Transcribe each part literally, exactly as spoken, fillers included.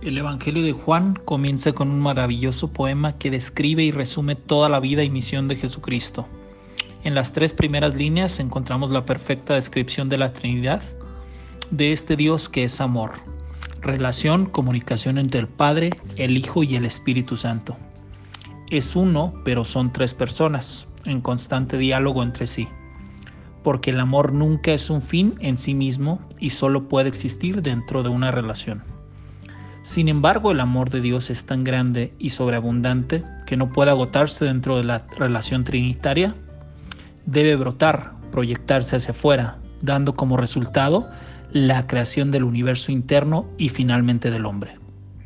El Evangelio de Juan comienza con un maravilloso poema que describe y resume toda la vida y misión de Jesucristo. En las tres primeras líneas encontramos la perfecta descripción de la Trinidad, de este Dios que es amor, relación, comunicación entre el Padre, el Hijo y el Espíritu Santo. Es uno, pero son tres personas, en constante diálogo entre sí, porque el amor nunca es un fin en sí mismo y solo puede existir dentro de una relación. Sin embargo, el amor de Dios es tan grande y sobreabundante que no puede agotarse dentro de la relación trinitaria. Debe brotar, proyectarse hacia afuera, dando como resultado la creación del universo interno y finalmente del hombre.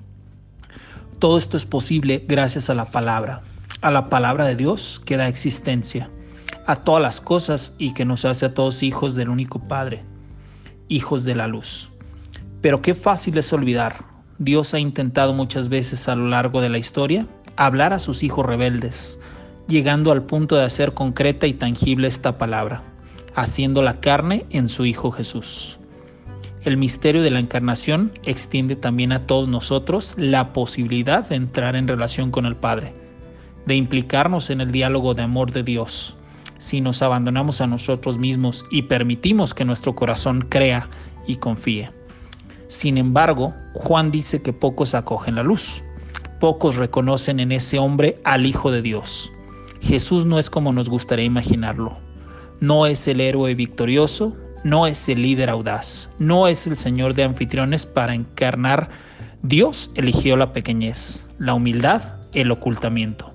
Todo esto es posible gracias a la palabra, a la palabra de Dios que da existencia a todas las cosas y que nos hace a todos hijos del único Padre, hijos de la luz. Pero qué fácil es olvidar. Dios ha intentado muchas veces a lo largo de la historia hablar a sus hijos rebeldes, llegando al punto de hacer concreta y tangible esta palabra, haciendo la carne en su Hijo Jesús. El misterio de la encarnación extiende también a todos nosotros la posibilidad de entrar en relación con el Padre, de implicarnos en el diálogo de amor de Dios, si nos abandonamos a nosotros mismos y permitimos que nuestro corazón crea y confíe. Sin embargo, Juan dice que pocos acogen la luz, pocos reconocen en ese hombre al Hijo de Dios. Jesús no es como nos gustaría imaginarlo, no es el héroe victorioso, no es el líder audaz, no es el Señor de anfitriones. Para encarnar, Dios eligió la pequeñez, la humildad, el ocultamiento.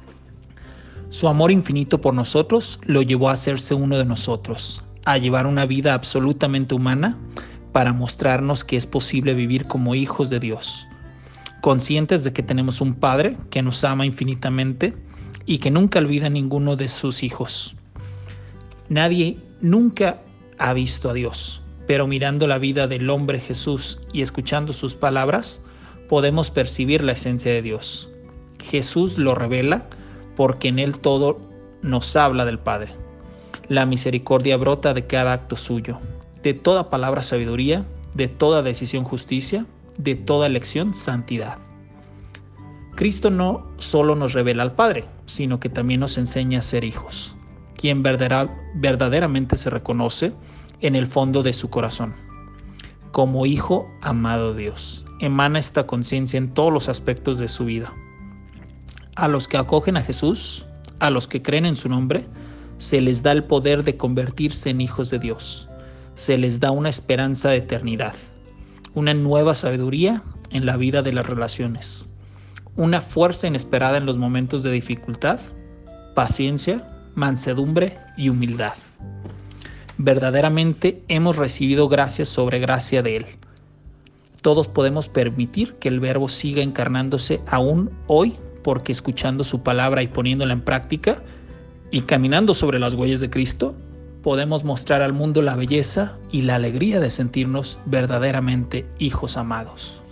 Su amor infinito por nosotros lo llevó a hacerse uno de nosotros, a llevar una vida absolutamente humana, para mostrarnos que es posible vivir como hijos de Dios, conscientes de que tenemos un Padre que nos ama infinitamente y que nunca olvida a ninguno de sus hijos. Nadie nunca ha visto a Dios, pero mirando la vida del hombre Jesús y escuchando sus palabras, podemos percibir la esencia de Dios. Jesús lo revela porque en él todo nos habla del Padre. La misericordia brota de cada acto suyo, de toda palabra sabiduría, de toda decisión justicia, de toda elección santidad. Cristo no solo nos revela al Padre, sino que también nos enseña a ser hijos, quien verdadera, verdaderamente se reconoce en el fondo de su corazón. Como hijo amado de Dios, emana esta conciencia en todos los aspectos de su vida. A los que acogen a Jesús, a los que creen en su nombre, se les da el poder de convertirse en hijos de Dios. Se les da una esperanza de eternidad, una nueva sabiduría en la vida de las relaciones, una fuerza inesperada en los momentos de dificultad, paciencia, mansedumbre y humildad. Verdaderamente hemos recibido gracia sobre gracia de Él. Todos podemos permitir que el Verbo siga encarnándose aún hoy, porque escuchando su palabra y poniéndola en práctica y caminando sobre las huellas de Cristo, podemos mostrar al mundo la belleza y la alegría de sentirnos verdaderamente hijos amados.